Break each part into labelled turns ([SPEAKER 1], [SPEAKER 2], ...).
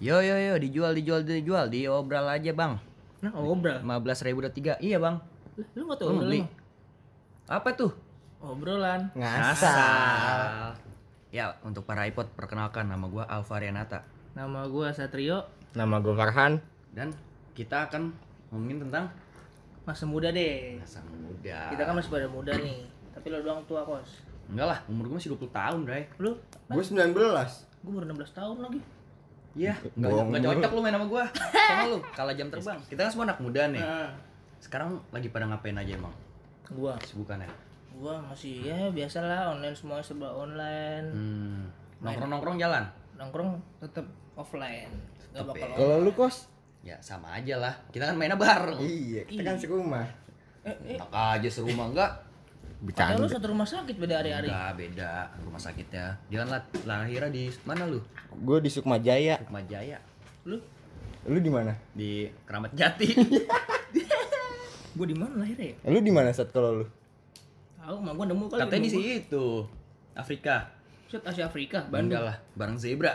[SPEAKER 1] Yo, dijual diobral aja bang.
[SPEAKER 2] Nah, obral.
[SPEAKER 1] 15.000 udah 3. Iya bang.
[SPEAKER 2] Lu nggak tahu
[SPEAKER 1] Lu
[SPEAKER 2] obral
[SPEAKER 1] beli.
[SPEAKER 2] emang?
[SPEAKER 1] Apa tuh?
[SPEAKER 2] Obrolan.
[SPEAKER 3] Ngasal.
[SPEAKER 1] Ya untuk para iPod perkenalkan, nama gua Alvarianata.
[SPEAKER 2] Nama gua Satrio.
[SPEAKER 3] Nama gue Farhan.
[SPEAKER 1] Dan kita akan ngomongin tentang
[SPEAKER 2] Masa muda deh.
[SPEAKER 1] masa muda.
[SPEAKER 2] Kita kan masih pada muda nih. Tapi lo doang tua, Kos.
[SPEAKER 1] Enggak lah, umur gua masih 20 tahun, Bray.
[SPEAKER 2] Lu?
[SPEAKER 3] Gue 19.
[SPEAKER 2] Gua baru 16 tahun lagi.
[SPEAKER 1] Iya, enggak
[SPEAKER 3] Bohong.
[SPEAKER 1] cocok lu main sama gua. Sama lu, kalah jam terbang. Kita kan semua anak muda nih.
[SPEAKER 2] Nah,
[SPEAKER 1] Sekarang lagi pada ngapain aja emang?
[SPEAKER 2] gua
[SPEAKER 1] Kesibukannya.
[SPEAKER 2] masih ya biasalah, online, semua serba online.
[SPEAKER 1] Nongkrong-nongkrong jalan.
[SPEAKER 2] Nongkrong tetap offline. Gak
[SPEAKER 1] Tetep
[SPEAKER 2] bakal
[SPEAKER 1] ya.
[SPEAKER 3] Kalau lu kos?
[SPEAKER 1] Ya sama aja lah. Kita kan mainnya bareng.
[SPEAKER 3] Iya, kita kan serumah.
[SPEAKER 1] Enak aja serumah enggak?
[SPEAKER 2] Padahal lu
[SPEAKER 3] Bercanda.
[SPEAKER 2] satu rumah sakit beda hari-hari.
[SPEAKER 1] Enggak, beda rumah sakitnya. Dia kan lahirnya di mana lu?
[SPEAKER 3] Gue di Sukma Jaya.
[SPEAKER 1] Sukma Jaya.
[SPEAKER 2] Lu?
[SPEAKER 3] Lu di mana?
[SPEAKER 1] Di Keramat Jati.
[SPEAKER 2] Gua di mana lahirnya ya?
[SPEAKER 3] Lu di mana saat kalau lu?
[SPEAKER 2] Tahu, mah gua nemu kali.
[SPEAKER 1] Katanya di
[SPEAKER 2] nemu gua.
[SPEAKER 1] situ. Afrika.
[SPEAKER 2] Set Asia Afrika,
[SPEAKER 1] Enggak
[SPEAKER 2] Bandung.
[SPEAKER 1] lah, bareng zebra.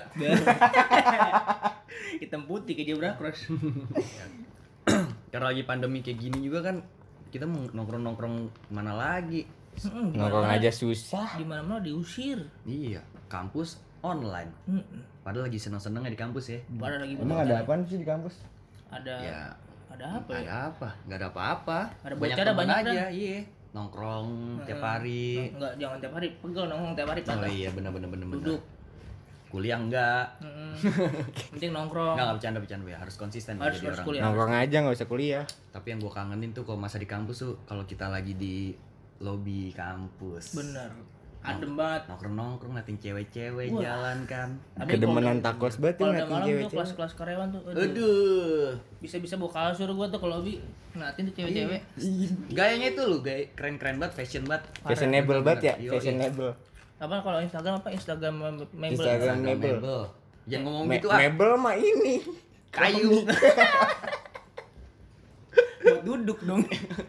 [SPEAKER 2] Hitam putih ke zebra cross.
[SPEAKER 1] Karena lagi pandemi kayak gini juga kan kita mau nongkrong-nongkrong mana lagi?
[SPEAKER 3] Nongkrong aja susah.
[SPEAKER 2] Di mana-mana diusir.
[SPEAKER 1] Iya, kampus online. Padahal lagi seneng-senengnya di kampus ya.
[SPEAKER 2] Pada lagi
[SPEAKER 3] Emang ada apaan sih di kampus?
[SPEAKER 2] ada
[SPEAKER 1] Ya,
[SPEAKER 2] ada apa ya?
[SPEAKER 1] ada apa? Nggak ada apa-apa.
[SPEAKER 2] Ada
[SPEAKER 1] Banyak
[SPEAKER 2] bocah, ada
[SPEAKER 1] teman
[SPEAKER 2] banyak
[SPEAKER 1] aja, iya. Nongkrong tiap hari.
[SPEAKER 2] Enggak, jangan tiap hari. Pegel nongkrong tiap hari
[SPEAKER 1] Oh
[SPEAKER 2] patah.
[SPEAKER 1] iya, bener.
[SPEAKER 2] Duduk.
[SPEAKER 1] Kuliah enggak.
[SPEAKER 2] Penting nongkrong.
[SPEAKER 1] Enggak bercanda ya. Harus konsisten
[SPEAKER 2] Harus
[SPEAKER 1] jadi orang.
[SPEAKER 2] kuliah.
[SPEAKER 3] Nongkrong aja nggak usah kuliah.
[SPEAKER 1] Tapi yang gue kangenin tuh kalau masa di kampus tuh kalau kita lagi di lobi kampus.
[SPEAKER 2] Bener. Adem banget.
[SPEAKER 1] Nongkrong ngeliatin cewek-cewek
[SPEAKER 2] Wah.
[SPEAKER 1] jalan kan.
[SPEAKER 2] Ada
[SPEAKER 3] Kedemenan takos banget
[SPEAKER 2] kalau
[SPEAKER 3] tuh
[SPEAKER 2] udah
[SPEAKER 3] ngeliatin
[SPEAKER 2] malam tuh
[SPEAKER 3] cewek-cewek.
[SPEAKER 2] kelas-kelas karyawan tuh.
[SPEAKER 1] Aduh.
[SPEAKER 2] Bisa-bisa bawa kasur gua tuh ke lobby. Ngeliatin tuh cewek-cewek.
[SPEAKER 1] Gayanya itu loh, gaya keren-keren banget, fashion banget.
[SPEAKER 3] Fashionable banget ya,
[SPEAKER 1] Yoi.
[SPEAKER 3] fashionable.
[SPEAKER 2] Apa kalau Instagram apa? Instagram mebel.
[SPEAKER 3] Instagram mebel.
[SPEAKER 1] Jangan ngomong gitu ah.
[SPEAKER 3] Mebel mah ini.
[SPEAKER 1] Kayu.
[SPEAKER 2] Buat duduk dong.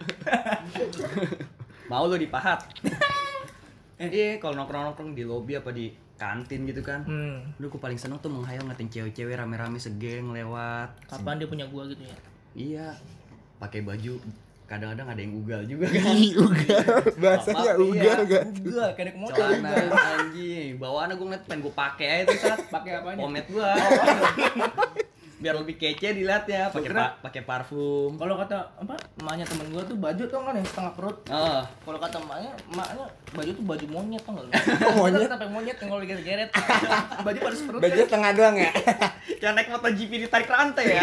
[SPEAKER 1] Mau lo dipahat. Iya, kalau nongkrong-nongkrong di lobi apa di kantin gitu kan. Lu gue paling seneng tuh menghayal ngatin cewek-cewek rame-rame segeng lewat.
[SPEAKER 2] Kapan dia punya gua gitu ya?
[SPEAKER 1] Iya. Pakai baju kadang-kadang ada yang ugal juga kan.
[SPEAKER 3] Ugal. Bahasanya
[SPEAKER 1] Apa,
[SPEAKER 3] ugal
[SPEAKER 1] iya.
[SPEAKER 3] gak?
[SPEAKER 2] Gua kayak motor.
[SPEAKER 1] Celana anjing. Bawaannya gue ngeliat pengen gue pakai aja tuh saat
[SPEAKER 2] Pakai apanya?
[SPEAKER 1] pomade gua. Biar lebih kece dilihatnya, pakai parfum.
[SPEAKER 2] Kalau kata apa emaknya temen gua tuh baju tuh kan yang setengah perut.
[SPEAKER 1] Oh,
[SPEAKER 2] Kalau kata emaknya baju tuh baju monyet tau nggak lu?
[SPEAKER 3] Monyet?
[SPEAKER 2] Sampai monyet yang kalau digeret-geret. Baju pada seperut.
[SPEAKER 3] Baju setengah doang ya?
[SPEAKER 1] yang naik MotoGP ditarik rantai ya.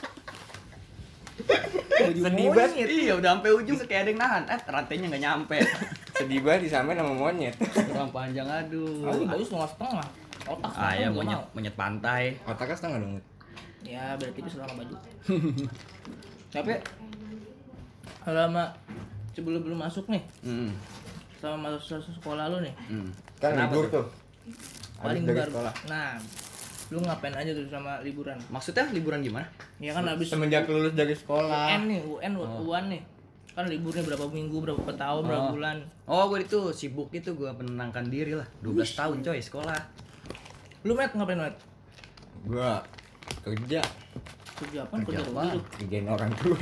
[SPEAKER 2] Baju
[SPEAKER 3] Sedih
[SPEAKER 2] monyet.
[SPEAKER 3] banget.
[SPEAKER 1] Iya, udah sampai ujung kayak ada yang nahan. Rantainya nggak nyampe.
[SPEAKER 3] Sedih banget disamain sama monyet.
[SPEAKER 1] Kurang panjang aduh.
[SPEAKER 2] Ah, baju setengah. Otak
[SPEAKER 1] Ah ya
[SPEAKER 2] gua
[SPEAKER 1] monyet
[SPEAKER 2] mau.
[SPEAKER 1] monyet pantai.
[SPEAKER 3] Otaknya setengah dong.
[SPEAKER 2] Ya berarti tipis sama baju. Tapi selama sebelum masuk nih, selama masuk sekolah lu nih,
[SPEAKER 3] Kan
[SPEAKER 1] Kenapa
[SPEAKER 3] libur
[SPEAKER 1] tuh?
[SPEAKER 3] tuh.
[SPEAKER 2] paling
[SPEAKER 3] Habis dari
[SPEAKER 2] baru.
[SPEAKER 3] sekolah.
[SPEAKER 2] Nah, lu ngapain aja tuh sama liburan?
[SPEAKER 1] Maksudnya liburan gimana?
[SPEAKER 2] Ya kan habis
[SPEAKER 3] Semenjak lulus dari sekolah.
[SPEAKER 2] UN nih, UAN nih. Kan liburnya berapa minggu, berapa tahun, berapa bulan.
[SPEAKER 1] Oh, gue itu sibuk itu gue menenangkan diri lah. 12 tahun coy sekolah.
[SPEAKER 2] Lu Met ngapain Met?
[SPEAKER 3] Gua kerja.
[SPEAKER 2] Kerja apa?
[SPEAKER 1] Kerja
[SPEAKER 2] Kerja
[SPEAKER 1] apaan?
[SPEAKER 2] dulu.
[SPEAKER 3] Kerjain orang tua.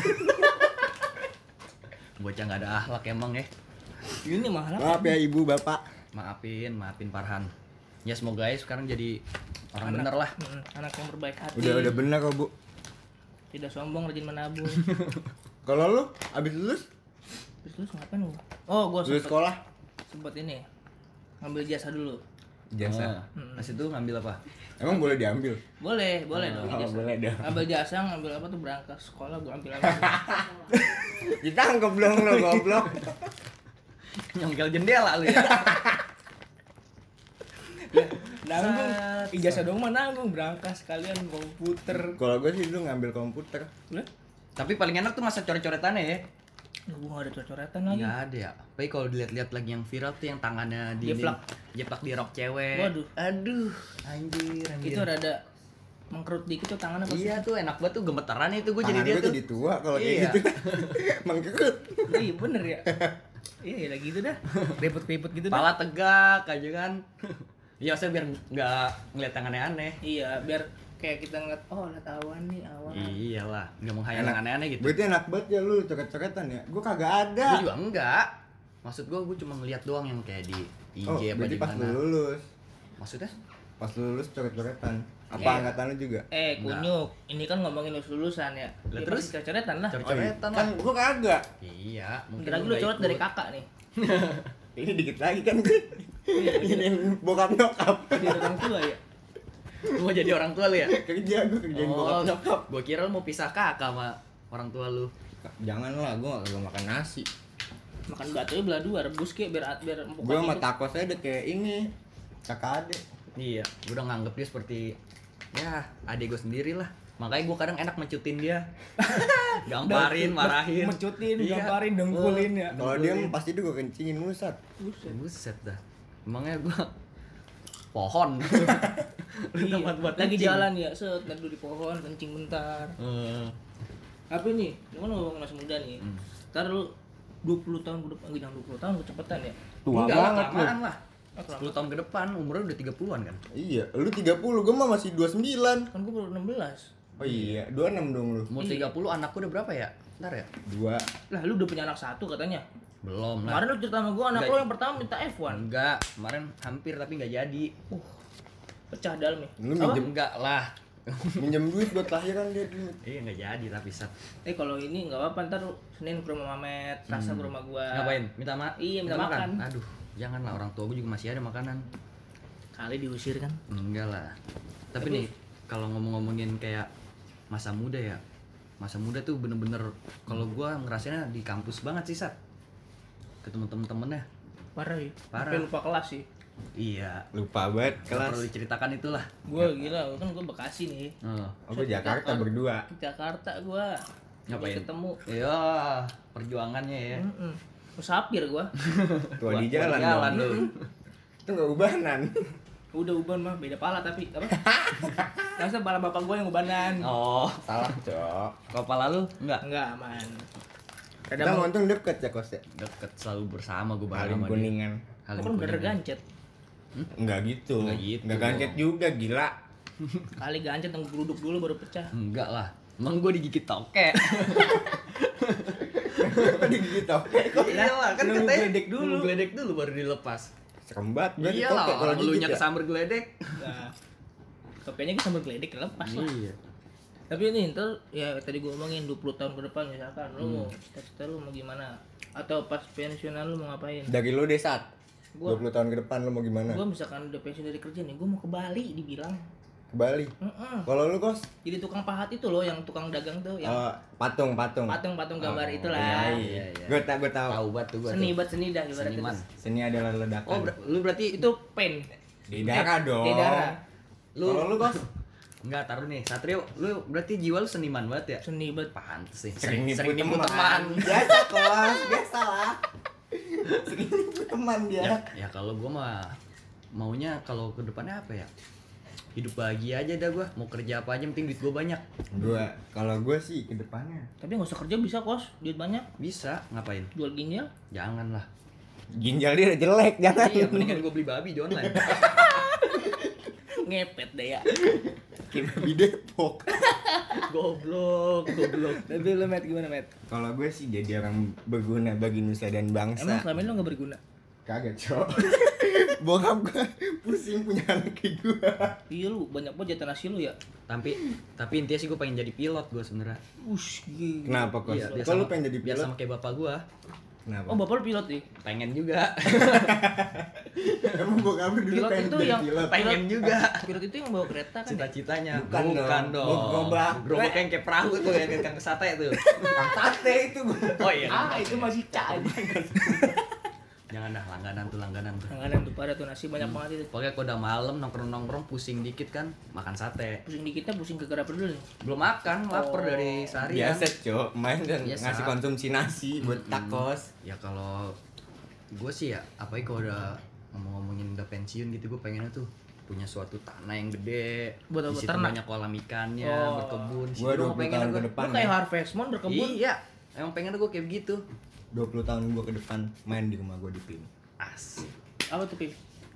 [SPEAKER 1] Bocah nggak ada akhlak emang ya.
[SPEAKER 2] Ini mahal.
[SPEAKER 3] Maaf ya ibu bapak.
[SPEAKER 1] Maafin Farhan. Ya semoga ya sekarang jadi orang bener lah.
[SPEAKER 2] Anak yang berbaik hati.
[SPEAKER 3] Udah bener kok bu.
[SPEAKER 2] Tidak sombong, rajin menabung.
[SPEAKER 3] Kalau lu abis lulus?
[SPEAKER 2] Terus lu ngapain lu? Oh, gua
[SPEAKER 3] Lulus sekolah?
[SPEAKER 2] sempet ini ngambil jasa dulu.
[SPEAKER 3] Jasa.
[SPEAKER 1] Pas itu ngambil apa?
[SPEAKER 3] Emang boleh diambil?
[SPEAKER 2] Boleh dong.
[SPEAKER 3] Oh,
[SPEAKER 2] Jasa.
[SPEAKER 3] boleh dong.
[SPEAKER 2] Ngambil jasa, ngambil apa tuh berangkas sekolah gua ambil lagi.
[SPEAKER 3] Ditangkap dong lo goblok.
[SPEAKER 1] Nyongkel jendela lu ya.
[SPEAKER 2] Nanggung, ijazah dong mah nanggung, berangkas sekalian komputer.
[SPEAKER 3] Kalau gue sih dulu ngambil komputer.
[SPEAKER 2] Lah,
[SPEAKER 1] Tapi paling enak tuh masa coret-coretannya ya.
[SPEAKER 2] gua nggak ada coret-coretan lagi.
[SPEAKER 1] Nggak ada ya. Tapi kalau dilihat-lihat lagi yang viral tuh yang tangannya
[SPEAKER 2] Jeplak.
[SPEAKER 1] jeplak di rok cewek.
[SPEAKER 2] Waduh.
[SPEAKER 1] Aduh, anjir.
[SPEAKER 2] Itu rada mengkerut dikit tuh tangannya pasti.
[SPEAKER 1] Iya tuh enak banget tuh gemeteran itu gue jadi
[SPEAKER 3] Tangan
[SPEAKER 1] dia
[SPEAKER 3] gue
[SPEAKER 1] tuh.
[SPEAKER 3] jadi tua kalau kayak
[SPEAKER 1] Iya.
[SPEAKER 3] gitu. Mengkerut.
[SPEAKER 2] Oh, iya bener ya. Iya lagi gitu dah. Ribet-ribet gitu dah.
[SPEAKER 1] Pala tegak aja kan. Iya, saya biar nggak ngeliat tangannya aneh.
[SPEAKER 2] Iya, biar kayak kita ngeliat oh ada awan nih awan.
[SPEAKER 1] Iyalah, nggak menghayal yang aneh-aneh gitu.
[SPEAKER 3] Berarti enak banget ya lu coret-coretan ya. Gua kagak ada.
[SPEAKER 1] Gue juga enggak. Maksud gue cuma ngeliat doang yang kayak di IG
[SPEAKER 3] Oh,
[SPEAKER 1] apa
[SPEAKER 3] berarti
[SPEAKER 1] di
[SPEAKER 3] pas
[SPEAKER 1] mana.
[SPEAKER 3] lu lulus.
[SPEAKER 1] Maksudnya?
[SPEAKER 3] Pas lu lulus coret-coretan. Apa
[SPEAKER 2] Iya.
[SPEAKER 3] angkatan lu juga?
[SPEAKER 2] Kunyuk, ini kan ngomongin lulusan ya.
[SPEAKER 1] Lah,
[SPEAKER 2] Ya,
[SPEAKER 1] terus?
[SPEAKER 2] pasti coret-coretan lah.
[SPEAKER 1] Coret-coretan
[SPEAKER 3] Kan
[SPEAKER 1] lah.
[SPEAKER 3] gua kagak.
[SPEAKER 1] Iya, mungkin
[SPEAKER 2] Bentar lagi lu
[SPEAKER 1] nggak
[SPEAKER 2] coret
[SPEAKER 1] ikut.
[SPEAKER 2] dari kakak nih.
[SPEAKER 3] Ini dikit lagi kan gue. Ini bokap nyokap.
[SPEAKER 2] Dari orang tua ya.
[SPEAKER 1] Lu mau jadi orang tua lu ya?
[SPEAKER 3] Kerja gue kerjain bokap nyokap.
[SPEAKER 1] Gue kira lu mau pisah kakak sama orang tua lu.
[SPEAKER 3] Janganlah, gua kagak makan nasi.
[SPEAKER 2] Makan batunya belah dua, rebus ke biar empuk.
[SPEAKER 3] Gua sama tacos aja udah kayak ini. Kakak adek.
[SPEAKER 1] Iya, gue udah nganggep dia seperti ya adik gue sendiri lah. Makanya gue kadang enak mencutin dia. Gamparin, marahin.
[SPEAKER 2] mencutin,
[SPEAKER 1] Iya.
[SPEAKER 2] gamparin, dengkulin ya.
[SPEAKER 3] Kalau dia pasti tuh gua kencingin musat.
[SPEAKER 1] Buset dah. Emangnya gue pohon.
[SPEAKER 2] Iya,
[SPEAKER 1] Tempat buat
[SPEAKER 2] lagi
[SPEAKER 1] kencing.
[SPEAKER 2] jalan ya, set duduk di pohon, kencing bentar. Tapi nih, lu kan ngomong masih muda nih. Ntar lu 20 tahun ke depan, jangan 20 tahun kecepatan ya.
[SPEAKER 3] Tua
[SPEAKER 1] Enggak lah,
[SPEAKER 3] banget lu.
[SPEAKER 1] kelamaan lah.
[SPEAKER 2] Ah,
[SPEAKER 1] 10 tahun ke depan umurnya udah 30-an kan?
[SPEAKER 3] Iya, lu 30, gua mah masih 29.
[SPEAKER 2] Kan gua baru 16.
[SPEAKER 3] Oh iya, 26 dong lu.
[SPEAKER 1] Umur 30 anakku udah berapa ya? Ntar ya?
[SPEAKER 3] 2.
[SPEAKER 2] Lah lu udah punya anak satu katanya.
[SPEAKER 1] Belum lah.
[SPEAKER 2] Kemarin lu cerita sama gua anak
[SPEAKER 1] Enggak.
[SPEAKER 2] lu yang pertama minta F1.
[SPEAKER 1] Enggak, kemarin hampir tapi nggak jadi.
[SPEAKER 2] Pecah dalamnya.
[SPEAKER 3] Lu
[SPEAKER 2] Apa?
[SPEAKER 3] minjem
[SPEAKER 1] Enggak lah.
[SPEAKER 3] minjem duit buat lahiran dia dulu.
[SPEAKER 1] Iya nggak jadi tapi sat.
[SPEAKER 2] Kalau ini enggak apa-apa, ntar lu Senin ke rumah Mamet, Selasa ke rumah gua.
[SPEAKER 1] Ngapain? Minta
[SPEAKER 2] Iya, minta makan.
[SPEAKER 1] Aduh, janganlah, orang tua gue juga masih ada makanan.
[SPEAKER 2] Kali diusir kan.
[SPEAKER 1] Enggak lah. Tapi nih kalau ngomong-ngomongin kayak masa muda ya. Masa muda tuh bener-bener kalau gua ngerasainnya di kampus banget sih, Sat. Ketemu temen-temennya.
[SPEAKER 2] Parah ya.
[SPEAKER 1] Parah.
[SPEAKER 2] Sampai lupa kelas sih.
[SPEAKER 1] Iya.
[SPEAKER 3] Lupa banget
[SPEAKER 1] Nggak perlu
[SPEAKER 3] kelas.
[SPEAKER 1] diceritakan itulah.
[SPEAKER 2] Gua gila, kan gua Bekasi nih.
[SPEAKER 1] Oh.
[SPEAKER 3] Oh, gua Jakarta berdua.
[SPEAKER 2] Ke Jakarta gua.
[SPEAKER 1] Ngapain?
[SPEAKER 2] Ketemu.
[SPEAKER 1] Iya, perjuangannya ya.
[SPEAKER 2] Musafir gua.
[SPEAKER 3] Tua di jalan dong.
[SPEAKER 1] lu.
[SPEAKER 3] Itu enggak ubanan.
[SPEAKER 2] Udah uban mah beda pala tapi apa? Masa pala bapak gua yang ubanan.
[SPEAKER 1] Oh,
[SPEAKER 3] Salah, Cok.
[SPEAKER 1] kepala lu enggak?
[SPEAKER 2] Enggak aman.
[SPEAKER 3] Kita
[SPEAKER 2] Kadang
[SPEAKER 3] mau untung deket ya kosnya.
[SPEAKER 1] Deket selalu bersama gue bareng
[SPEAKER 3] Halim
[SPEAKER 1] sama dia.
[SPEAKER 3] Kuningan.
[SPEAKER 1] Halim
[SPEAKER 2] kan bener
[SPEAKER 1] Kuningan.
[SPEAKER 2] gancet.
[SPEAKER 3] Enggak gitu.
[SPEAKER 1] Nggak gitu.
[SPEAKER 3] Enggak gancet juga, gila.
[SPEAKER 2] Kali gancet yang geruduk dulu baru pecah.
[SPEAKER 1] Enggak lah. Emang gue digigit toke.
[SPEAKER 3] Digigit oke.
[SPEAKER 1] Iya lah, kan
[SPEAKER 2] nunggu
[SPEAKER 1] katanya
[SPEAKER 2] geledek dulu.
[SPEAKER 1] nunggu geledek dulu baru dilepas.
[SPEAKER 3] Serem banget berarti
[SPEAKER 1] Iya
[SPEAKER 3] toke
[SPEAKER 1] lah,
[SPEAKER 3] kalau
[SPEAKER 1] orang elunya
[SPEAKER 3] gigit ya.
[SPEAKER 1] kesamber geledek.
[SPEAKER 2] Nah, topenya kita sambil geledek lepas lah.
[SPEAKER 1] Iya.
[SPEAKER 2] Tapi ini ntar ya tadi gua omongin 20 tahun ke depan misalkan lu mau cita-cita lu mau gimana? Atau pas pensiunan lu mau ngapain?
[SPEAKER 3] Dari lu deh saat
[SPEAKER 2] Gua-
[SPEAKER 3] 20 tahun ke depan lu mau gimana?
[SPEAKER 2] Gua misalkan udah pensiun dari kerja nih, gua mau ke Bali dibilang.
[SPEAKER 3] Ke Bali. Kalau lu kos?
[SPEAKER 2] Jadi tukang pahat itu loh, yang tukang dagang tuh, yang
[SPEAKER 3] Patung.
[SPEAKER 2] patung-patung gambar
[SPEAKER 3] Oh,
[SPEAKER 2] itulah.
[SPEAKER 1] iya, iya.
[SPEAKER 3] Gue tahu.
[SPEAKER 1] Tahu banget tuh gue.
[SPEAKER 2] Seni buat seni dah ibaratnya.
[SPEAKER 1] Seniman.
[SPEAKER 3] Seni adalah ledakan.
[SPEAKER 1] Oh, lu berarti
[SPEAKER 2] Itu pen.
[SPEAKER 3] di darah dong.
[SPEAKER 2] Di darah.
[SPEAKER 3] Kalau lu kos?
[SPEAKER 1] Enggak, taruh nih. Satrio, lu berarti jiwa lu seniman banget ya?
[SPEAKER 2] Seni banget.
[SPEAKER 1] Pantes sih.
[SPEAKER 3] Sering nipu
[SPEAKER 1] nipu
[SPEAKER 3] teman. Biasa kos, biasa lah. Sering nipu teman dia.
[SPEAKER 1] Ya kalau gua mah maunya kalau ke depannya apa ya? Hidup bahagia aja dah gua. Mau kerja apa aja penting duit gua banyak.
[SPEAKER 3] Kalau gue sih ke depannya
[SPEAKER 2] Tapi nggak usah kerja bisa kos, duit banyak.
[SPEAKER 1] Bisa, ngapain?
[SPEAKER 2] Jual ginjal.
[SPEAKER 1] Janganlah.
[SPEAKER 3] ginjal dia udah jelek, jangan.
[SPEAKER 1] Iya, mendingan gua beli babi di online.
[SPEAKER 2] Ngepet deh ya.
[SPEAKER 3] Kayak babi Depok.
[SPEAKER 1] Goblok.
[SPEAKER 2] Tapi lu Met gimana Met?
[SPEAKER 3] Kalau gue sih jadi orang berguna bagi nusa dan
[SPEAKER 2] Emang
[SPEAKER 3] bangsa.
[SPEAKER 2] selama ini lu nggak berguna?
[SPEAKER 3] Kagak, Cok. Bokap gue pusing punya anak kayak gue.
[SPEAKER 2] Iya lu banyak banget jatah nasi lu ya.
[SPEAKER 1] Tapi intinya sih gua pengen jadi pilot gua sebenarnya.
[SPEAKER 2] Ush, gila.
[SPEAKER 3] Kenapa, Kos?
[SPEAKER 1] Iya, biar
[SPEAKER 3] Kok lu
[SPEAKER 1] sama-
[SPEAKER 3] pengen jadi
[SPEAKER 1] biar
[SPEAKER 3] pilot?
[SPEAKER 1] sama kayak bapak gua.
[SPEAKER 3] Kenapa?
[SPEAKER 2] Oh bapak lu pilot nih.
[SPEAKER 1] Pengen juga.
[SPEAKER 3] Emang bokap lu dulu
[SPEAKER 2] Pilot
[SPEAKER 3] pengen
[SPEAKER 2] itu
[SPEAKER 3] jadi
[SPEAKER 2] yang
[SPEAKER 3] pilot?
[SPEAKER 1] Pengen juga.
[SPEAKER 2] Pilot itu yang bawa kereta kan? Ya?
[SPEAKER 1] Cita-citanya.
[SPEAKER 3] Bukan dong. Gerobak.
[SPEAKER 1] Gerobak yang kayak perahu tuh yang kang sate tuh.
[SPEAKER 3] Kang sate itu gue.
[SPEAKER 1] Oh iya.
[SPEAKER 2] Itu masih cah.
[SPEAKER 1] Jangan dah, langganan tuh.
[SPEAKER 2] Tanganan tuh pada tuh nasi banyak banget itu.
[SPEAKER 1] Pokoknya kalau udah malam nongkrong pusing dikit kan makan sate.
[SPEAKER 2] Pusing dikitnya pusing ke apa dulu nih?
[SPEAKER 1] Belum makan, lapar
[SPEAKER 2] Oh.
[SPEAKER 1] dari seharian.
[SPEAKER 3] Biasa, Cok. Main dan
[SPEAKER 1] Biasa.
[SPEAKER 3] ngasih konsumsi nasi buat takos.
[SPEAKER 1] Ya kalau gue sih ya, apalagi kalau udah ngomongin udah pensiun gitu, gue pengennya tuh punya suatu tanah yang gede.
[SPEAKER 2] Buat apa?
[SPEAKER 1] Di situ
[SPEAKER 2] Ternak?
[SPEAKER 1] banyak kolam ikannya,
[SPEAKER 2] Oh.
[SPEAKER 1] berkebun. Di
[SPEAKER 3] Gue
[SPEAKER 1] situ
[SPEAKER 3] 20
[SPEAKER 1] pengennya
[SPEAKER 3] tahun ke
[SPEAKER 1] gua.
[SPEAKER 3] depan
[SPEAKER 2] Lu kayak
[SPEAKER 3] ya.
[SPEAKER 2] Harvest Moon berkebun.
[SPEAKER 1] Iya, emang pengen gue kayak begitu.
[SPEAKER 3] 20 tahun gue ke depan main di rumah gue di PIN.
[SPEAKER 1] Asik.
[SPEAKER 2] Apa tuh Pip?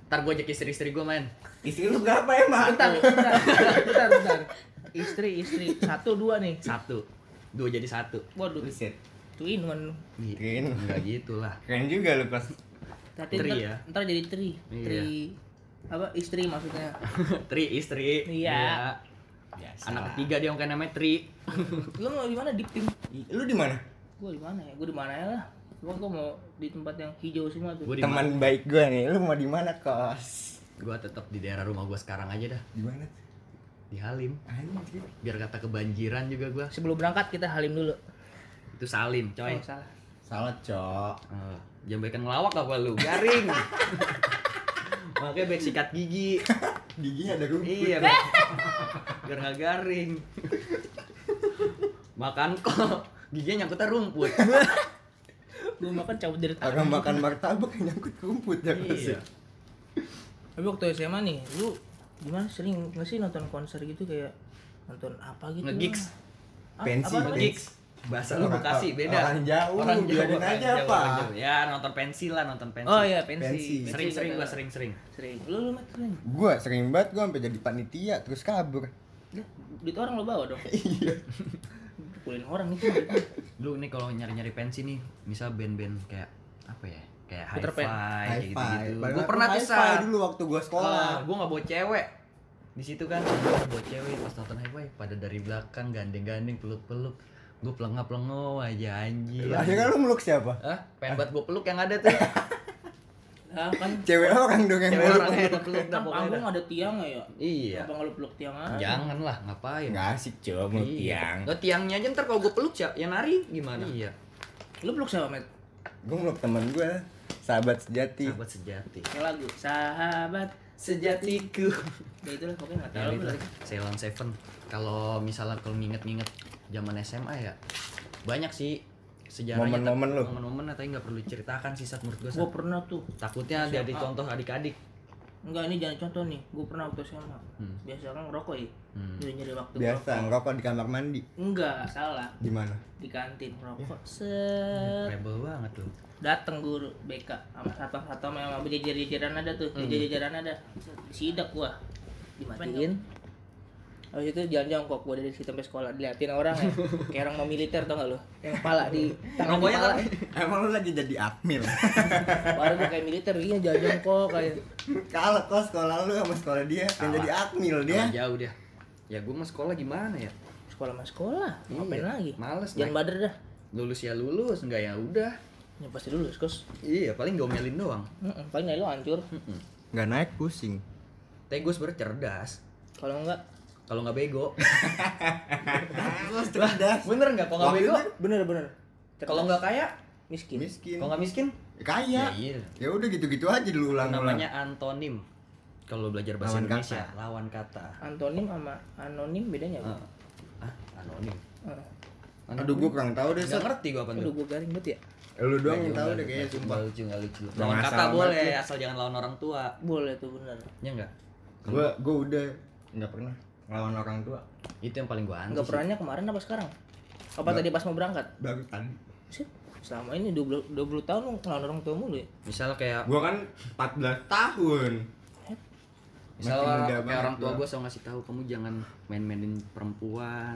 [SPEAKER 1] Ntar gue ajak istri-istri gue main.
[SPEAKER 3] Istri lu berapa emang?
[SPEAKER 2] Bentar. Istri 1 2 nih.
[SPEAKER 1] 1, 2 jadi 1.
[SPEAKER 2] Waduh,
[SPEAKER 3] Buset.
[SPEAKER 2] two in one.
[SPEAKER 3] Keren.
[SPEAKER 1] Enggak gitu lah.
[SPEAKER 3] Keren juga lu kos.
[SPEAKER 2] Tapi
[SPEAKER 1] Tri ya?
[SPEAKER 2] ntar jadi tri.
[SPEAKER 1] Iya.
[SPEAKER 2] Tri apa istri maksudnya?
[SPEAKER 1] Tri istri.
[SPEAKER 2] Iya.
[SPEAKER 3] Biasa.
[SPEAKER 1] Anak ketiga dia kan namanya Tri.
[SPEAKER 2] Lu mau di mana di tim?
[SPEAKER 3] Lu di mana?
[SPEAKER 2] Gua di mana ya? Gua di mana ya lah. Gua mau di tempat yang hijau semua tuh.
[SPEAKER 1] Gua di mana?
[SPEAKER 3] Teman baik gua nih. Lu mau di mana kos?
[SPEAKER 1] Gua tetap di daerah rumah gua sekarang aja dah.
[SPEAKER 3] Di mana?
[SPEAKER 1] Di Halim.
[SPEAKER 3] Anjir.
[SPEAKER 1] Biar kata kebanjiran juga gua.
[SPEAKER 2] Sebelum berangkat kita halim dulu.
[SPEAKER 1] Itu Salim, coy.
[SPEAKER 2] Oh, salah.
[SPEAKER 3] Salah, Cok.
[SPEAKER 1] Jangan baikan ngelawak apa lu? Garing. Makanya baik sikat gigi.
[SPEAKER 3] Giginya ada rumput.
[SPEAKER 1] Iya, biar nggak garing. Makan kok giginya nyangkutnya rumput.
[SPEAKER 2] Gua makan cabut dari tangan.
[SPEAKER 3] Orang makan martabak yang nyangkut rumput ya kos.
[SPEAKER 1] Iya.
[SPEAKER 2] Tapi waktu SMA nih, lu gimana sering nggak sih nonton konser gitu kayak nonton apa gitu?
[SPEAKER 1] Nge-gigs.
[SPEAKER 3] Pensi,
[SPEAKER 2] apa namanya?
[SPEAKER 1] Gigs. Bahasa lu
[SPEAKER 3] Orang-
[SPEAKER 1] Bekasi beda.
[SPEAKER 3] orang jauh, biarin aja,
[SPEAKER 1] jauh,
[SPEAKER 3] apa?
[SPEAKER 1] orang jauh. Ya, nonton pensi lah, nonton pensi.
[SPEAKER 2] Oh iya, pensi.
[SPEAKER 3] Pensi.
[SPEAKER 1] Sering-sering
[SPEAKER 2] kata-
[SPEAKER 1] gua sering-sering.
[SPEAKER 2] Sering. Lu Mat, sering.
[SPEAKER 3] Gua sering banget gua sampai jadi panitia terus kabur.
[SPEAKER 2] Lah, duit orang lo bawa dong.
[SPEAKER 3] Iya.
[SPEAKER 2] Pukulin orang itu.
[SPEAKER 1] Lu nih kalau nyari-nyari pensi nih, misal band-band kayak apa ya? Kayak
[SPEAKER 2] Peter
[SPEAKER 1] hi-fi,
[SPEAKER 2] Pan.
[SPEAKER 1] kayak
[SPEAKER 3] Hi-fi.
[SPEAKER 1] gitu-gitu.
[SPEAKER 3] Padahal
[SPEAKER 1] Gua pernah
[SPEAKER 3] tuh
[SPEAKER 1] tuh
[SPEAKER 3] hi-fi
[SPEAKER 1] Sat.
[SPEAKER 3] dulu waktu gua sekolah.
[SPEAKER 1] Gua enggak bawa cewek. Di situ kan gua bawa cewek pas nonton hi-fi pada dari belakang gandeng-gandeng peluk-peluk. Gua pelengap-pelengap aja anjir.
[SPEAKER 3] Akhirnya lu meluk siapa?
[SPEAKER 1] Hah? Pengen buat gua peluk yang ada tuh.
[SPEAKER 2] Lah kan
[SPEAKER 3] Cewek orang dong yang
[SPEAKER 1] Cewek
[SPEAKER 3] meluk.
[SPEAKER 1] orang yang peluk dah
[SPEAKER 2] kan
[SPEAKER 1] pokoknya.
[SPEAKER 2] panggung
[SPEAKER 1] dah.
[SPEAKER 2] ada tiang ya.
[SPEAKER 1] Iya.
[SPEAKER 2] Apa nggak lu peluk tiang aja?
[SPEAKER 1] Jangan lah, ngapain?
[SPEAKER 3] Nggak asik, Cok, meluk
[SPEAKER 1] Iya.
[SPEAKER 3] tiang.
[SPEAKER 1] Lo tiangnya aja ntar kalau gua peluk siapa yang nari gimana? Iya.
[SPEAKER 2] Lu peluk siapa, Met?
[SPEAKER 3] Gua meluk temen gua, sahabat sejati.
[SPEAKER 1] Sahabat sejati.
[SPEAKER 2] Yang lagu Sahabat
[SPEAKER 1] Sejatiku.
[SPEAKER 2] Ya itulah pokoknya enggak
[SPEAKER 1] Ya
[SPEAKER 2] tahu
[SPEAKER 1] itu
[SPEAKER 2] lagi.
[SPEAKER 1] Ceylon Seven. Kalau misalnya kalau nginget-nginget zaman SMA ya banyak sih sejarahnya.
[SPEAKER 3] Momen-momen lu.
[SPEAKER 1] Momen-momen tapi nggak perlu ceritakan sih saat menurut gue.
[SPEAKER 2] Gua pernah tuh.
[SPEAKER 1] Takutnya jadi contoh adik-adik.
[SPEAKER 2] Enggak, ini jangan contoh nih. Gua pernah waktu SMA. Biasa kan ngerokok ya. Nyari waktu
[SPEAKER 3] Biasa
[SPEAKER 2] ngerokok.
[SPEAKER 3] ngerokok di kamar mandi.
[SPEAKER 2] Enggak, salah.
[SPEAKER 3] Di mana?
[SPEAKER 2] Di kantin ngerokok. Set.
[SPEAKER 1] Rebel banget tuh.
[SPEAKER 2] Dateng guru BK sama satpam sama jajar-jajaran ada tuh. Jajar-jajaran ada. Sidak gua. Dimatiin. Habis itu jalan jongkok gua dari situ sampai sekolah diliatin orang ya. Kayak orang mau militer tau gak lu? Yang kepala di tangan di
[SPEAKER 1] Rokoknya
[SPEAKER 2] kepala.
[SPEAKER 1] tapi
[SPEAKER 3] Emang lu lagi jadi akmil?
[SPEAKER 2] Baru gua kayak militer iya jalan jongkok kayak.
[SPEAKER 3] Kalau kos sekolah lu sama sekolah dia yang
[SPEAKER 1] Salah.
[SPEAKER 3] jadi akmil dia.
[SPEAKER 1] Kalah jauh dia. Ya gue mah sekolah gimana ya?
[SPEAKER 2] Sekolah mas sekolah. Ngapain
[SPEAKER 1] Iya,
[SPEAKER 2] lagi?
[SPEAKER 1] males,
[SPEAKER 2] Jangan
[SPEAKER 1] naik.
[SPEAKER 2] bader dah.
[SPEAKER 1] Lulus ya lulus, enggak ya udah.
[SPEAKER 2] Ya pasti lulus, Kos.
[SPEAKER 1] Iya, paling diomelin doang.
[SPEAKER 2] Paling nilai lo hancur.
[SPEAKER 3] Nggak naik pusing.
[SPEAKER 1] Tapi gue sebenernya cerdas.
[SPEAKER 2] Kalau enggak
[SPEAKER 1] Kalau nggak bego.
[SPEAKER 3] Terus cerdas.
[SPEAKER 1] Bener nggak? Kalau nggak
[SPEAKER 3] Waktu
[SPEAKER 1] bego?
[SPEAKER 3] itu
[SPEAKER 2] bener.
[SPEAKER 1] Kalau nggak kaya?
[SPEAKER 2] miskin.
[SPEAKER 3] miskin.
[SPEAKER 1] Kalau nggak miskin?
[SPEAKER 3] Kaya.
[SPEAKER 1] Ya iya.
[SPEAKER 3] Ya udah gitu-gitu aja dulu ulang-ulang.
[SPEAKER 1] Namanya antonim. Kalau belajar bahasa
[SPEAKER 3] Lawan
[SPEAKER 1] Indonesia,
[SPEAKER 3] kata.
[SPEAKER 1] lawan kata.
[SPEAKER 2] Antonim sama anonim bedanya apa?
[SPEAKER 1] Anonim.
[SPEAKER 3] Aduh gua kurang tahu deh,
[SPEAKER 1] Nggak
[SPEAKER 3] Sat.
[SPEAKER 1] ngerti gua apa
[SPEAKER 2] Aduh
[SPEAKER 1] tuh.
[SPEAKER 2] gua garing banget ya.
[SPEAKER 3] Lu doang yang
[SPEAKER 1] Nggak
[SPEAKER 3] tahu
[SPEAKER 1] juga,
[SPEAKER 3] deh kayaknya
[SPEAKER 1] nggak
[SPEAKER 3] sumpah.
[SPEAKER 1] lucu, nggak lucu.
[SPEAKER 3] Nggak
[SPEAKER 1] Lawan kata
[SPEAKER 3] masalah
[SPEAKER 1] boleh,
[SPEAKER 3] banget.
[SPEAKER 1] asal jangan lawan orang tua.
[SPEAKER 2] Boleh tuh bener.
[SPEAKER 1] Ya enggak?
[SPEAKER 3] Gua udah nggak pernah ngelawan orang tua.
[SPEAKER 1] Itu yang paling gua anti.
[SPEAKER 2] Enggak
[SPEAKER 1] sih.
[SPEAKER 2] pernahnya kemarin apa sekarang? Apa
[SPEAKER 3] Nggak.
[SPEAKER 2] tadi pas mau berangkat?
[SPEAKER 3] Baru tadi.
[SPEAKER 2] Sih, selama ini 20 tahun lu ngelawan orang tua mulu ya?
[SPEAKER 1] Misal kayak
[SPEAKER 3] Gua kan 14 tahun.
[SPEAKER 1] misal
[SPEAKER 3] Masih muda
[SPEAKER 1] kayak
[SPEAKER 3] banget
[SPEAKER 1] orang tua
[SPEAKER 3] gua.
[SPEAKER 1] gua selalu ngasih tahu kamu jangan main-mainin perempuan.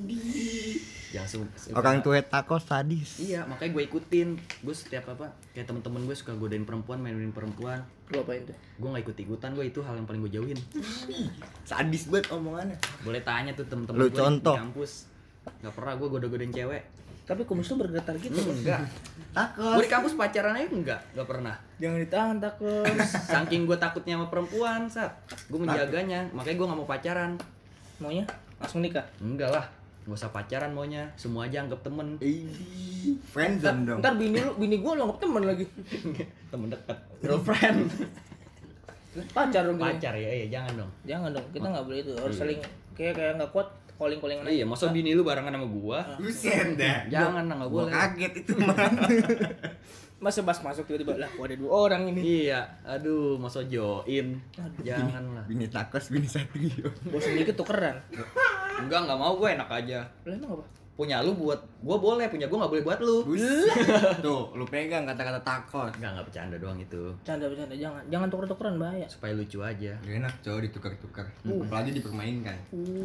[SPEAKER 1] Jangan
[SPEAKER 3] Orang tua takut sadis.
[SPEAKER 1] Iya, makanya gue ikutin. Gue setiap apa kayak temen-temen gue suka godain perempuan, mainin perempuan.
[SPEAKER 2] Lu apain tuh?
[SPEAKER 1] Gue nggak ikut-ikutan, gue itu hal yang paling gue jauhin.
[SPEAKER 3] Sadis banget omongannya.
[SPEAKER 1] Boleh tanya tuh temen-temen
[SPEAKER 3] Lu
[SPEAKER 1] gue
[SPEAKER 3] contoh.
[SPEAKER 1] di kampus. Gak pernah gue goda-godain cewek.
[SPEAKER 2] Tapi kumis lu bergetar gitu.
[SPEAKER 1] Enggak.
[SPEAKER 3] Takut.
[SPEAKER 1] Gue di kampus pacaran aja enggak pernah.
[SPEAKER 2] Jangan ditahan takut.
[SPEAKER 1] Saking gue takutnya sama perempuan, Sat. Gue menjaganya, makanya gue nggak mau pacaran.
[SPEAKER 2] Maunya langsung nikah.
[SPEAKER 1] Enggak lah, nggak usah pacaran maunya. Semua aja anggap temen.
[SPEAKER 3] Friendzone dong.
[SPEAKER 2] Ntar bini gua lo anggap temen lagi.
[SPEAKER 1] Temen dekat, girlfriend.
[SPEAKER 2] Pacar dong.
[SPEAKER 1] Pacar ya, iya jangan dong.
[SPEAKER 2] Jangan dong, kita nggak boleh itu. Harus
[SPEAKER 1] Iya.
[SPEAKER 2] saling kayak nggak kuat calling-callingan aja.
[SPEAKER 1] Iya, masa bini lu barengan sama gua?
[SPEAKER 3] Buset dah.
[SPEAKER 1] Jangan lah, nggak
[SPEAKER 3] Gua
[SPEAKER 1] boleh.
[SPEAKER 3] kaget itu mah.
[SPEAKER 2] Masa pas masuk tiba-tiba lah, kok ada 2 orang ini.
[SPEAKER 1] Iya, aduh, masa join. Jangan lah.
[SPEAKER 3] Bini takos, bini satrio.
[SPEAKER 2] Bosan dikit tukeran.
[SPEAKER 1] Enggak mau gue enak aja.
[SPEAKER 2] Lah emang apa?
[SPEAKER 1] punya lu buat gua boleh, punya gua nggak boleh buat lu.
[SPEAKER 3] Tuh, lu pegang kata-kata takos.
[SPEAKER 1] Nggak bercanda doang itu.
[SPEAKER 2] Bercanda, jangan tuker-tukeran bahaya.
[SPEAKER 1] Supaya lucu aja.
[SPEAKER 3] Gak enak cowok ditukar-tukar. Apalagi dipermainkan.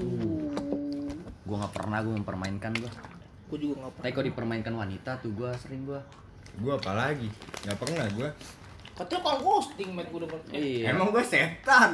[SPEAKER 1] Gua nggak pernah gua mempermainkan gua.
[SPEAKER 2] Gue juga nggak pernah.
[SPEAKER 1] Tapi kalau dipermainkan wanita tuh gua sering gua.
[SPEAKER 3] Gua apalagi? Gak pernah gua.
[SPEAKER 2] Katanya kang ghosting met gue denger.
[SPEAKER 1] Iya.
[SPEAKER 3] Emang gua setan.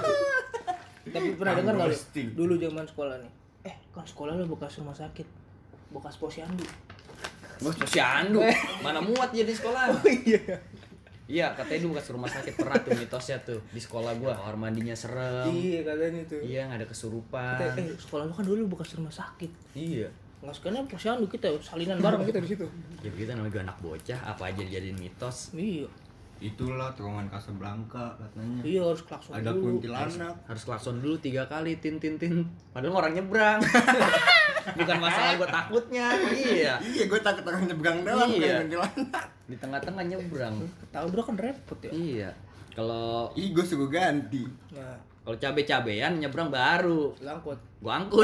[SPEAKER 2] Tapi pernah
[SPEAKER 3] Kang
[SPEAKER 2] dengar nggak lu?
[SPEAKER 3] ghosting.
[SPEAKER 2] Dulu zaman sekolah nih. Kan sekolah lu bekas rumah sakit, bekas posyandu.
[SPEAKER 1] Gua posyandu. Mana muat jadi sekolah. Iya, katanya dulu bekas rumah sakit pernah tuh mitosnya tuh di sekolah gua. Kamar mandinya serem.
[SPEAKER 2] Iya katanya tuh.
[SPEAKER 1] Iya, nggak ada kesurupan.
[SPEAKER 2] Katanya, sekolah lu kan dulu bekas rumah sakit.
[SPEAKER 1] Iya.
[SPEAKER 2] Nggak sekarang posyandu kita salinan bareng kita di situ.
[SPEAKER 1] Ya begitu namanya gua anak bocah, apa aja dijadiin mitos.
[SPEAKER 2] Iya.
[SPEAKER 3] Itulah terowongan Casablanca katanya.
[SPEAKER 2] Iya harus klakson
[SPEAKER 3] Ada
[SPEAKER 2] dulu.
[SPEAKER 3] kuntilanak.
[SPEAKER 1] Harus klakson dulu 3 kali tin. Padahal orang nyebrang. Bukan masalah gua takutnya. Iya.
[SPEAKER 3] Iya, gua takut orang nyebrang doang
[SPEAKER 1] Iya.
[SPEAKER 3] kayak kuntilanak.
[SPEAKER 1] Di tengah-tengah nyebrang.
[SPEAKER 2] Tahu bro kan repot ya.
[SPEAKER 1] Iya. Kalau
[SPEAKER 3] Ih, gua suruh ganti.
[SPEAKER 2] Nah,
[SPEAKER 1] cabe-cabean nyebrang baru.
[SPEAKER 2] langkut.
[SPEAKER 1] Gua angkut.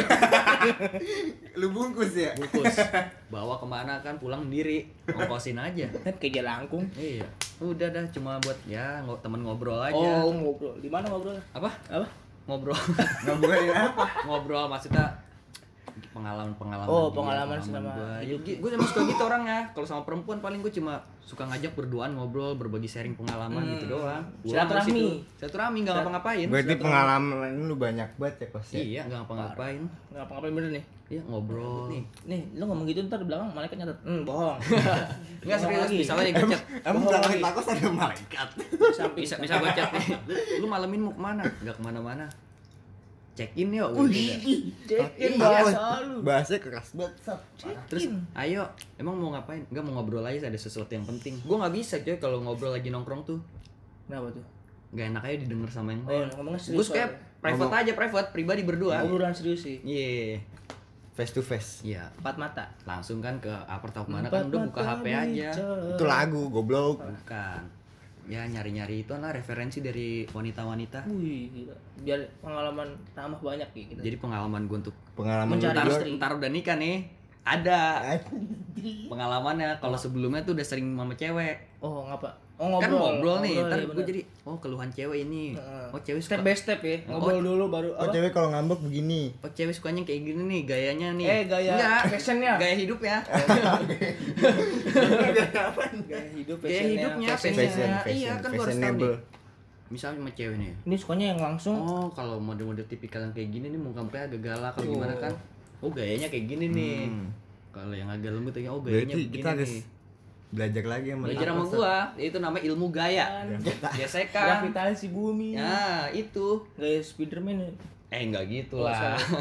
[SPEAKER 3] Lu bungkus ya?
[SPEAKER 1] Bungkus. Bawa kemana kan pulang sendiri. Ongkosin aja.
[SPEAKER 2] Kan kayak Jalangkung.
[SPEAKER 1] Iya. Udah dah cuma buat ya temen ngobrol aja.
[SPEAKER 2] Oh ngobrol. Di mana ngobrol?
[SPEAKER 1] Apa?
[SPEAKER 2] Apa?
[SPEAKER 1] Ngobrol.
[SPEAKER 3] Ngobrolin apa?
[SPEAKER 1] Ngobrol maksudnya pengalaman
[SPEAKER 2] Oh,
[SPEAKER 1] dia,
[SPEAKER 2] pengalaman selama
[SPEAKER 1] gua.
[SPEAKER 2] hidup.
[SPEAKER 1] Gue emang suka gitu orangnya. Kalau sama perempuan paling gue cuma suka ngajak berduaan ngobrol, berbagi sharing pengalaman gitu doang. Pulang
[SPEAKER 2] Silaturahmi.
[SPEAKER 1] dari situ. Silaturahmi nggak ngapa-ngapain.
[SPEAKER 3] Berarti pengalaman lu banyak banget ya, Kos ya?
[SPEAKER 1] Iya, nggak ngapa-ngapain.
[SPEAKER 2] Nggak apa-apa bener nih.
[SPEAKER 1] Iya, ngobrol.
[SPEAKER 2] Nih, lu ngomong gitu ntar di belakang malaikat nyatet. Bohong.
[SPEAKER 1] Enggak serius,
[SPEAKER 2] lagi.
[SPEAKER 1] misalnya nih gue chat.
[SPEAKER 3] Emang
[SPEAKER 2] Bohong
[SPEAKER 3] kalau
[SPEAKER 2] lagi.
[SPEAKER 3] takos ada malaikat.
[SPEAKER 2] Samping.
[SPEAKER 1] Bisa gue chat nih. Lu malam ini mau kemana? Nggak kemana-mana. Check in yuk.
[SPEAKER 2] Cekin
[SPEAKER 1] Iya.
[SPEAKER 2] bahasa lu.
[SPEAKER 3] Bahasanya keras banget, Sap.
[SPEAKER 1] Terus ayo, emang mau ngapain? Enggak, mau ngobrol aja, ada sesuatu yang penting. Gue nggak bisa coy kalau ngobrol lagi nongkrong tuh.
[SPEAKER 2] Kenapa tuh?
[SPEAKER 1] Nggak enak aja didengar sama yang
[SPEAKER 2] Oh,
[SPEAKER 1] lain.
[SPEAKER 2] ngomongnya
[SPEAKER 1] Gue
[SPEAKER 2] serius.
[SPEAKER 1] kayak private aja, private, pribadi berdua.
[SPEAKER 2] Obrolan serius sih.
[SPEAKER 1] Iya.
[SPEAKER 3] Face to face.
[SPEAKER 1] Iya.
[SPEAKER 2] Empat mata.
[SPEAKER 1] Langsung kan ke apartemen mana kan udah buka HP aja.
[SPEAKER 3] Itu lagu, goblok.
[SPEAKER 1] Bukan. Ya nyari-nyari itu lah referensi dari wanita-wanita.
[SPEAKER 2] Wih, gila. Biar pengalaman tambah banyak ya kita.
[SPEAKER 1] Jadi pengalaman gue untuk
[SPEAKER 3] Pengalaman
[SPEAKER 2] Mencari
[SPEAKER 3] lu
[SPEAKER 2] istri.
[SPEAKER 1] ntar udah nikah nih. Ada pengalamannya. Kalau sebelumnya tuh udah sering sama cewek.
[SPEAKER 2] Oh, ngapa? Oh,
[SPEAKER 1] Kan ngobrol nih, ntar
[SPEAKER 2] iya
[SPEAKER 1] gue
[SPEAKER 2] bener.
[SPEAKER 1] jadi oh keluhan cewek ini.
[SPEAKER 2] Heeh.
[SPEAKER 1] Oh cewek
[SPEAKER 2] Step
[SPEAKER 1] suka,
[SPEAKER 2] by step ya. Ngobrol dulu baru
[SPEAKER 3] Oh, cewek kalau ngambek begini.
[SPEAKER 1] oh cewek sukanya kayak gini nih gayanya nih.
[SPEAKER 2] Gaya
[SPEAKER 1] Enggak,
[SPEAKER 2] fashionnya.
[SPEAKER 1] gaya hidup ya.
[SPEAKER 2] Gaya hidup
[SPEAKER 1] Gaya hidupnya,
[SPEAKER 2] fashionnya.
[SPEAKER 1] fashionnya.
[SPEAKER 3] Fashion,
[SPEAKER 1] Iya kan gue harus tahu nih.
[SPEAKER 3] fashionable.
[SPEAKER 1] Misalnya sama cewek nih.
[SPEAKER 2] Ini sukanya yang langsung.
[SPEAKER 1] Oh kalau model-model tipikal yang kayak gini nih muka mukanya agak galak atau
[SPEAKER 2] Oh.
[SPEAKER 1] gimana kan? Oh gayanya kayak gini nih. Kalau yang agak lembut ya oh gayanya
[SPEAKER 3] Berarti
[SPEAKER 1] begini
[SPEAKER 3] kita harus
[SPEAKER 1] nih.
[SPEAKER 3] belajar lagi sama
[SPEAKER 1] Belajar sama
[SPEAKER 3] takos, Sap.
[SPEAKER 1] gua, itu namanya ilmu gaya. Gesekan.
[SPEAKER 2] Gravitasi bumi.
[SPEAKER 1] Nah, itu.
[SPEAKER 2] Gaya Spiderman ya.
[SPEAKER 1] Enggak gitu
[SPEAKER 2] Oh,
[SPEAKER 1] lah.
[SPEAKER 2] salah.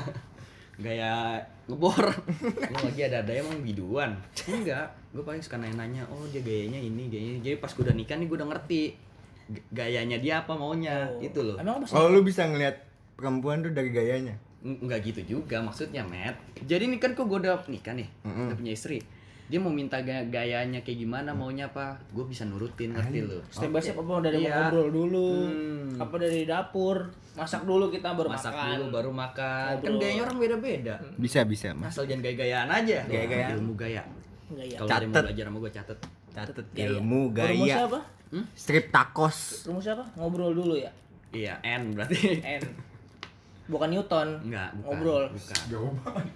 [SPEAKER 1] Gaya ngebor. Lu lagi ada emang biduan. Enggak, gua paling suka nanya-nanya, oh dia gayanya ini, gayanya. Jadi pas gua udah nikah nih gua udah ngerti gayanya dia apa maunya.
[SPEAKER 2] Oh.
[SPEAKER 1] Itu loh.
[SPEAKER 2] Emang apa sih?
[SPEAKER 3] Oh, lu bisa ngelihat perempuan tuh dari gayanya.
[SPEAKER 1] Enggak gitu juga maksudnya, Matt. Jadi nih kan kok gue udah nikah nih, udah punya istri. Dia mau minta gayanya kayak gimana, maunya apa, gue bisa nurutin, ngerti lu.
[SPEAKER 2] Step by step apa dari
[SPEAKER 1] Iya.
[SPEAKER 2] ngobrol dulu.
[SPEAKER 1] Hmm.
[SPEAKER 2] Apa dari dapur. Masak dulu kita baru
[SPEAKER 1] Masak
[SPEAKER 2] makan.
[SPEAKER 1] dulu baru makan. Kan
[SPEAKER 2] Ngobrol.
[SPEAKER 1] gayanya orang beda-beda.
[SPEAKER 3] Bisa, Mas.
[SPEAKER 1] Asal jangan gaya-gayaan aja.
[SPEAKER 3] Gaya-gayaan.
[SPEAKER 1] Ilmu gaya.
[SPEAKER 2] Gaya.
[SPEAKER 1] Kalau ada yang mau
[SPEAKER 3] Catet.
[SPEAKER 1] belajar sama gue catet.
[SPEAKER 3] Catet
[SPEAKER 2] Gaya.
[SPEAKER 3] ilmu
[SPEAKER 2] Rumusnya
[SPEAKER 3] gaya.
[SPEAKER 2] apa?
[SPEAKER 3] Strip takos.
[SPEAKER 2] Rumusnya apa? Ngobrol dulu ya.
[SPEAKER 1] Iya, N berarti.
[SPEAKER 2] N. Bukan Newton.
[SPEAKER 1] Enggak, bukan.
[SPEAKER 2] Ngobrol.
[SPEAKER 1] Bukan.
[SPEAKER 3] Jauh banget.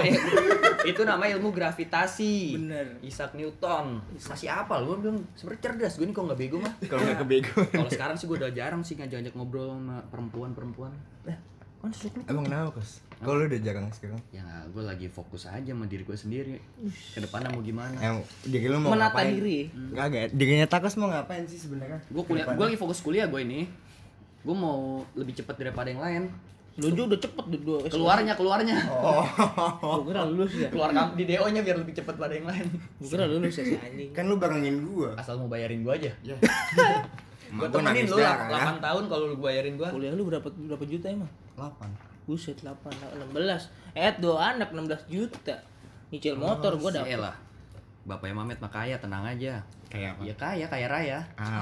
[SPEAKER 1] Itu namanya ilmu gravitasi.
[SPEAKER 2] Bener.
[SPEAKER 1] Isaac Newton. Masih apa lu? Gue bilang sebenarnya cerdas. Gue nih kok nggak bego mah.
[SPEAKER 3] Kalau nggak kebego.
[SPEAKER 1] Kalau sekarang sih gue udah jarang sih ngajak-ngajak ngobrol sama perempuan-perempuan.
[SPEAKER 2] Kan susuk lu.
[SPEAKER 3] Emang kenapa, Kos? Kalau lu udah jarang sekarang.
[SPEAKER 1] Ya gue lagi fokus aja sama diri gue sendiri. Kedepannya mau gimana?
[SPEAKER 3] Yang diri lu mau
[SPEAKER 2] Menata
[SPEAKER 3] ngapain?
[SPEAKER 2] diri.
[SPEAKER 3] Kagak. Dirinya takos mau ngapain sih sebenarnya?
[SPEAKER 1] Gue kuliah, gue lagi fokus kuliah gue ini. Gue mau lebih cepat daripada yang lain.
[SPEAKER 2] Lu juga udah cepet dua.
[SPEAKER 1] Keluarnya.
[SPEAKER 3] Oh.
[SPEAKER 2] Gua kira lulus ya.
[SPEAKER 1] Keluar di DO-nya biar lebih cepat daripada yang lain.
[SPEAKER 2] Gua kira lulus ya si anjing.
[SPEAKER 3] Kan lu barengin gua.
[SPEAKER 1] Asal mau bayarin gue aja.
[SPEAKER 3] Ya.
[SPEAKER 1] Gue
[SPEAKER 3] Emak gua
[SPEAKER 1] temenin
[SPEAKER 3] nangis
[SPEAKER 1] lu
[SPEAKER 3] darah,
[SPEAKER 1] 8 tahun kalau lu bayarin gue.
[SPEAKER 2] Kuliah lu berapa juta emang?
[SPEAKER 3] 8.
[SPEAKER 2] Buset 8 16. 2 anak 16 juta. Nyicil motor gua dapat.
[SPEAKER 1] lah. Bapaknya Mamet mah kaya, tenang aja.
[SPEAKER 3] Kayak apa?
[SPEAKER 1] Ya kaya raya.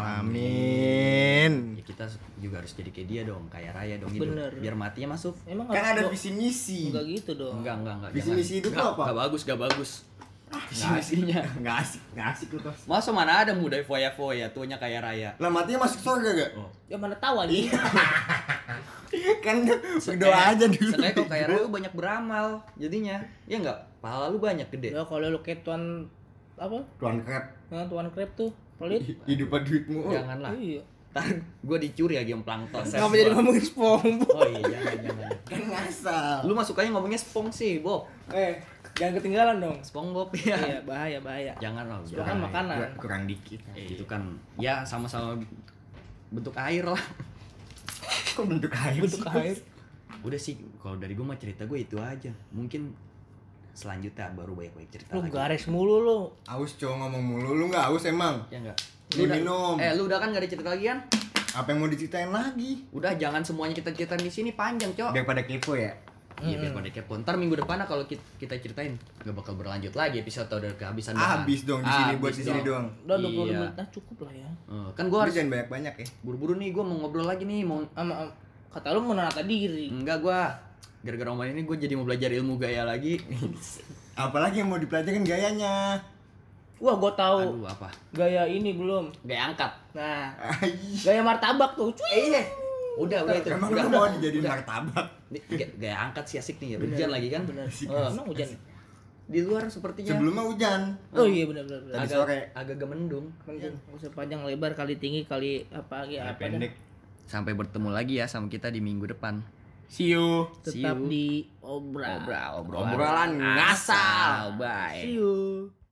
[SPEAKER 3] Amin.
[SPEAKER 1] Ya kita juga harus jadi kayak dia dong, kaya raya dong hidup.
[SPEAKER 2] Bener.
[SPEAKER 1] Biar matinya masuk.
[SPEAKER 2] Emang
[SPEAKER 3] Kan ada
[SPEAKER 2] harus
[SPEAKER 3] visi misi.
[SPEAKER 2] enggak gitu dong.
[SPEAKER 1] Enggak.
[SPEAKER 3] Visi
[SPEAKER 1] jangan.
[SPEAKER 3] misi hidup
[SPEAKER 1] Enggak,
[SPEAKER 3] apa?
[SPEAKER 1] Enggak bagus.
[SPEAKER 3] Visi
[SPEAKER 1] Nggak
[SPEAKER 3] misinya
[SPEAKER 1] asik.
[SPEAKER 3] nggak asik lu kos.
[SPEAKER 1] Masa mana ada muda foya-foya, tuanya kaya raya.
[SPEAKER 3] Lah matinya masuk surga gak?
[SPEAKER 1] Oh.
[SPEAKER 2] Ya mana tahu anjing.
[SPEAKER 3] Kan berdoa aja dulu.
[SPEAKER 1] Sebenarnya kalau kaya raya lu banyak beramal jadinya. Ya enggak? Pahala lu banyak gede.
[SPEAKER 2] Ya kalau lu kayak tuan apa?
[SPEAKER 3] Tuan krep.
[SPEAKER 2] Nah, tuan krep tuh pelit.
[SPEAKER 3] Hidup duitmu.
[SPEAKER 1] Janganlah.
[SPEAKER 2] Iya.
[SPEAKER 1] Ntar gue dicuri lagi yang plankton.
[SPEAKER 2] Ngapa jadi ngomongin SpongeBob?
[SPEAKER 1] Oh iya, jangan.
[SPEAKER 3] Kan ngasal.
[SPEAKER 1] Lu masuk aja ngomongnya spong sih, Bob.
[SPEAKER 2] Jangan ketinggalan dong.
[SPEAKER 1] SpongeBob ya.
[SPEAKER 2] Iya, bahaya.
[SPEAKER 1] Jangan lah.
[SPEAKER 2] Itu kan makanan.
[SPEAKER 3] Kurang dikit.
[SPEAKER 1] Itu kan ya sama-sama bentuk air lah.
[SPEAKER 3] Kok bentuk air?
[SPEAKER 2] Bentuk air.
[SPEAKER 1] Udah sih, kalau dari gue mah cerita gue itu aja. Mungkin selanjutnya baru banyak cerita
[SPEAKER 2] Lu
[SPEAKER 1] lagi.
[SPEAKER 2] garis mulu lu.
[SPEAKER 3] Aus cowok ngomong mulu, lu nggak aus emang?
[SPEAKER 1] Ya enggak.
[SPEAKER 3] Lu minum.
[SPEAKER 1] Lu udah kan gak ada cerita lagi kan?
[SPEAKER 3] Apa yang mau diceritain lagi?
[SPEAKER 1] Udah jangan semuanya kita ceritain di sini panjang, Cok.
[SPEAKER 3] Daripada kepo ya.
[SPEAKER 1] Iya biar pada kepo. Ntar minggu depan kalau kita ceritain nggak bakal berlanjut lagi episode udah kehabisan bahan.
[SPEAKER 3] Habis dong di sini
[SPEAKER 1] Habis
[SPEAKER 3] buat di sini doang.
[SPEAKER 2] Udah 20
[SPEAKER 1] Iya.
[SPEAKER 2] menit nah cukup lah ya.
[SPEAKER 1] Kan gua
[SPEAKER 3] Lu
[SPEAKER 1] harus
[SPEAKER 3] jangan banyak-banyak ya.
[SPEAKER 1] buru-buru nih, gua mau ngobrol lagi nih, mau
[SPEAKER 2] Kata lu menata diri.
[SPEAKER 1] enggak gua gara-gara omongan ini gua jadi mau belajar ilmu gaya lagi.
[SPEAKER 3] Apalagi yang mau dipelajarin gayanya.
[SPEAKER 2] Wah, gua tahu.
[SPEAKER 1] Aduh, apa?
[SPEAKER 2] Gaya ini belum.
[SPEAKER 1] Gaya angkat.
[SPEAKER 2] Nah,
[SPEAKER 3] Ai.
[SPEAKER 2] gaya martabak tuh. Cuy.
[SPEAKER 1] Iya. Udah itu.
[SPEAKER 3] Emang
[SPEAKER 1] Udah.
[SPEAKER 3] lu mau dijadiin martabak?
[SPEAKER 1] Ini gaya angkat sih asik nih ya. Hujan lagi kan?
[SPEAKER 2] Bener.
[SPEAKER 1] Oh,
[SPEAKER 2] Emang hujan.
[SPEAKER 1] di luar sepertinya
[SPEAKER 3] Sebelumnya hujan.
[SPEAKER 2] Oh iya benar.
[SPEAKER 3] Tadi sore.
[SPEAKER 1] agak mendung.
[SPEAKER 2] Mending usah panjang lebar kali tinggi kali apa lagi apa dah.
[SPEAKER 3] Pendek.
[SPEAKER 1] Sampai bertemu lagi ya sama kita di minggu depan.
[SPEAKER 3] See you.
[SPEAKER 2] Tetap
[SPEAKER 1] See you.
[SPEAKER 2] di obral.
[SPEAKER 1] Obrolan
[SPEAKER 3] Obrolan ngasal.
[SPEAKER 1] Bye.
[SPEAKER 2] See you.